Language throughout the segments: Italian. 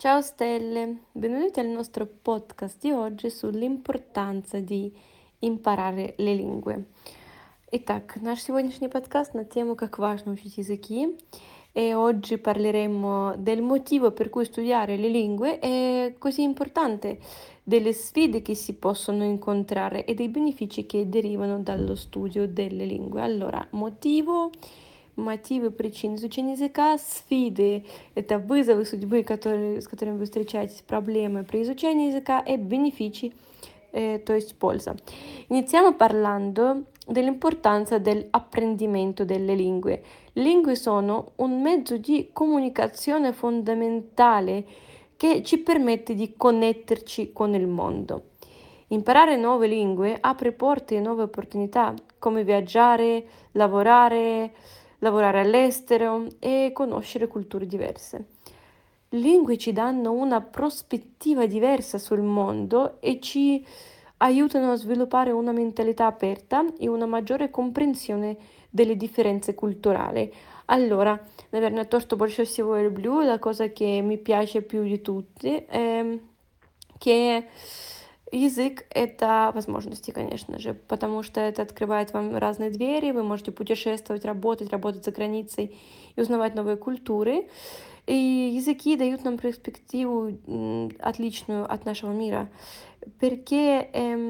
Ciao Stelle, benvenuti al nostro podcast di oggi sull'importanza di имparare le lingue. Итак, наш сегодняшний подкаст на тему «Как важно учить языки». E oggi parleremo del motivo per cui studiare le lingue è così importante, delle sfide che si possono incontrare e dei benefici che derivano dallo studio delle lingue. Allora, мотивы причин изучения языка, sfide — это вызовы судьбы, с которыми вы встречаетесь, проблемы при изучении языка e benefici, то есть польза. Iniziamo parlando dell'importanza dell'apprendimento delle lingue. Le lingue sono un mezzo di comunicazione fondamentale che ci permette di connetterci con il mondo. Imparare nuove lingue apre porte e nuove opportunità, come viaggiare, lavorare, lavorare all'estero e conoscere culture diverse. Le lingue ci danno una prospettiva diversa sul mondo e ci aiutano a sviluppare una mentalità aperta e una maggiore comprensione delle differenze culturali. Allora, наверное, то, что больше всего я люблю, la cosa che mi piace più di tutti, che язык — это возможности, конечно же, потому что это открывает вам разные двери, вы можете путешествовать, работать за границей и узнавать новые культуры. И языки дают нам перспективу отличную от нашего мира, perché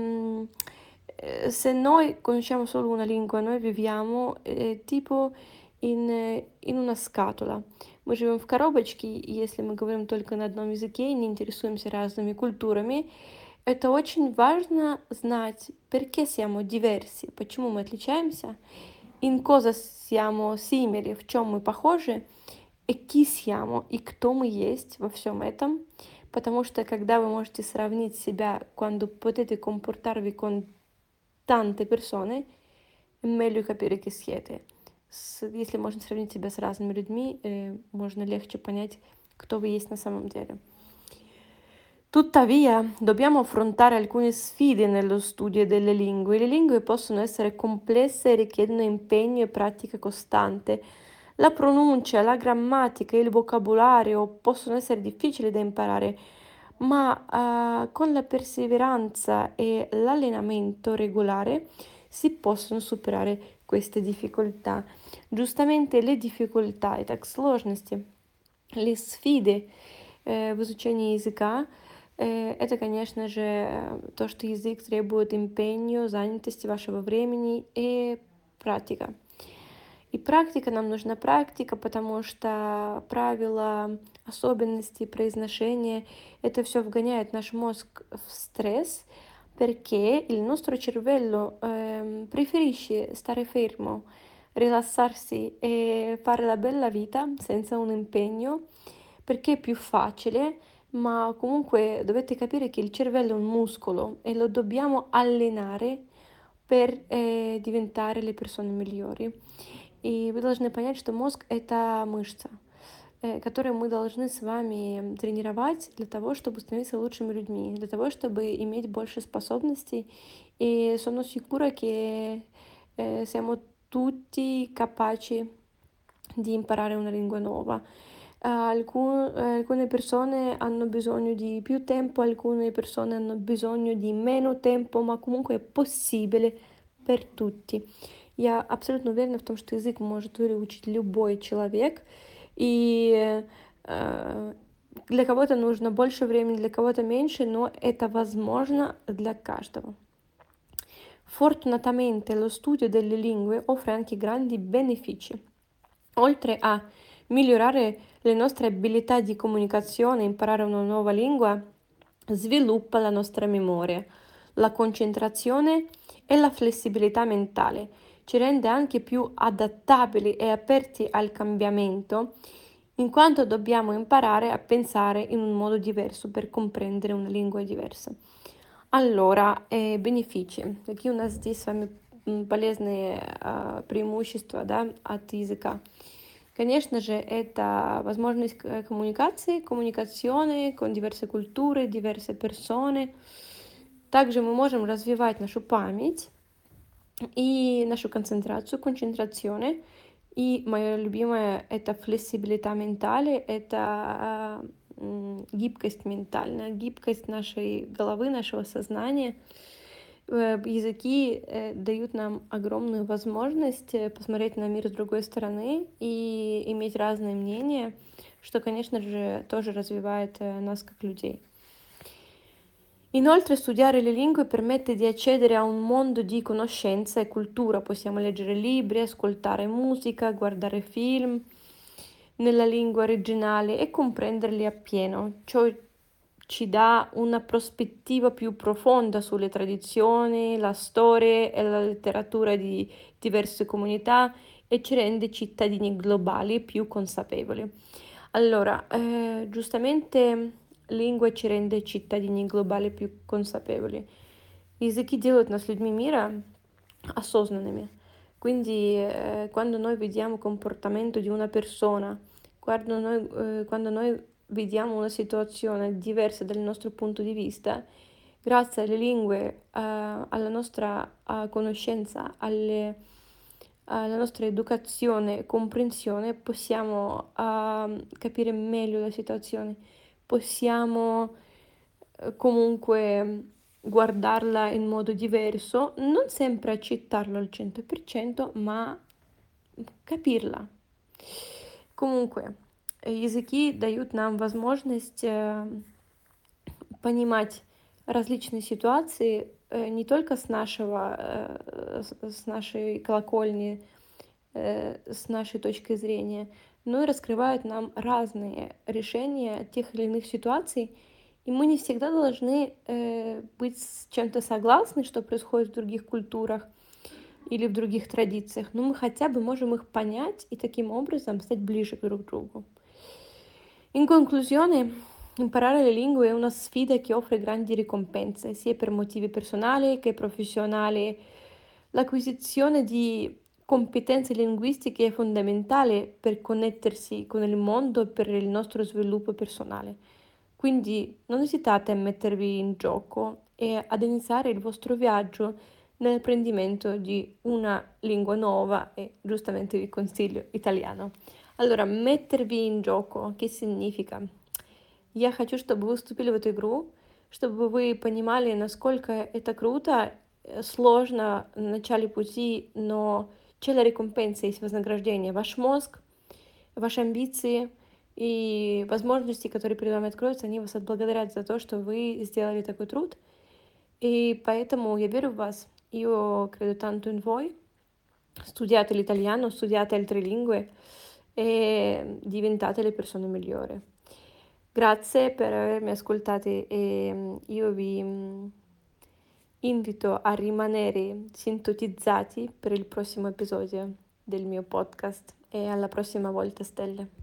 se noi conosciamo solo una lingua, noi viviamo tipo in una scatola. Мы живем в коробочке, и если мы говорим только на одном языке и не интересуемся разными культурами, это очень важно знать, perché siamo diversi, почему мы отличаемся, in cosa siamo simili, в чем мы похожи, и chi siamo, и кто мы есть во всем этом. Потому что когда вы можете сравнить себя, quando potete comportarvi con tante persone, è meglio capire chi siete. Если можно сравнить себя с разными людьми, можно легче понять, кто вы есть на самом деле. Tuttavia, dobbiamo affrontare alcune sfide nello studio delle lingue. Le lingue possono essere complesse e richiedono impegno e pratica costante. La pronuncia, la grammatica e il vocabolario possono essere difficili da imparare, ma con la perseveranza e l'allenamento regolare si possono superare queste difficoltà. Giustamente le difficoltà, итак, сложности, le sfide в изучении языка — это, конечно же, то, что язык требует импенью, занятости вашего времени и практика. И практика, нам нужна практика, потому что правила, особенности произношения — это все вгоняет наш мозг в стресс, perché il nostro cervello preferisce stare fermo, rilassarsi e fare la bella vita senza un impegno, perché è più facile, ma comunque dovete capire che il cervello è un muscolo e lo dobbiamo allenare per diventare le persone migliori. И вы должны понять, что мозг — это мышца, которую мы должны с вами тренировать для того, чтобы становиться lучшими людьми, для того, чтобы иметь больше способностей. E sono sicura che siamo tutti capaci di imparare una lingua nuova. Alcune persone hanno bisogno di più tempo, alcune persone hanno bisogno di meno tempo, ma comunque è possibile per tutti. Я абсолютно уверена в том, что язык может выучить любой человек, и для кого-то нужно больше времени, для кого-то меньше, но это возможно для каждого. Fortunatamente lo studio delle lingue offre anche grandi benefici. Oltre a migliorare le nostre abilità di comunicazione, imparare una nuova lingua sviluppa la nostra memoria, la concentrazione e la flessibilità mentale. Ci rende anche più adattabili e aperti al cambiamento, in quanto dobbiamo imparare a pensare in un modo diverso per comprendere una lingua diversa. Allora, benefici. Какие у нас здесь с вами полезные преимущества, да, от языка? Конечно же, это возможность коммуникации, коммуникационные con diverse культуры, diverse persone. Также мы можем развивать нашу память и нашу концентрацию, концентрационе. И мое любимое — это flexibilità mentale, это гибкость ментальная, гибкость нашей головы, нашего сознания. Языки дают нам огромную возможность посмотреть на мир с другой стороны и иметь разные мнения, что, конечно же, тоже развивает нас как людей. Inoltre studiare le lingue permette di accedere a un mondo di conoscenza e cultura, possiamo leggere libri, ascoltare musica, guardare film nella lingua originale e comprenderli appieno. Ciò ci dà una prospettiva più profonda sulle tradizioni, la storia e la letteratura di diverse comunità e ci rende cittadini globali più consapevoli. Allora, giustamente lingua ci rende cittadini глобали più consapevoli. Языки делают нас людьми мира осознанными. Quindi, quando noi vediamo comportamento di una persona, quando noi vediamo una situazione diversa dal nostro punto di vista, grazie alle lingue, alla nostra conoscenza, alla nostra educazione e comprensione, possiamo capire meglio la situazione, possiamo comunque guardarla in modo diverso, non sempre accettarlo al 100%, ma capirla. Comunque, языки дают нам возможность понимать различные ситуации не только с нашей колокольни, с нашей точки зрения, но и раскрывают нам разные решения тех или иных ситуаций. И мы не всегда должны быть с чем-то согласны, что происходит в других культурах или в других традициях, но мы хотя бы можем их понять и таким образом стать ближе друг к другу. In conclusione, imparare le lingue è una sfida che offre grandi ricompense, sia per motivi personali che professionali. L'acquisizione di competenze linguistiche è fondamentale per connettersi con il mondo e per il nostro sviluppo personale. Quindi non esitate a mettervi in gioco e ad iniziare il vostro viaggio nell'apprendimento di una lingua nuova e giustamente vi consiglio italiano. Allora, mettervi in gioco, che significa? Я хочу, чтобы вы вступили в эту игру, чтобы вы понимали, насколько это круто, сложно в начале пути, но c'è la ricompensa, есть вознаграждение. Ваш мозг, ваши амбиции и возможности, которые перед вами откроются, они вас отблагодарят за то, что вы сделали такой труд. E поэтому я верю в вас. Io credo tanto in voi. Studiate l'italiano, studiate altre lingue e diventate le persone migliori. Grazie per avermi ascoltati e io vi invito a rimanere sintonizzati per il prossimo episodio del mio podcast e alla prossima volta, stelle.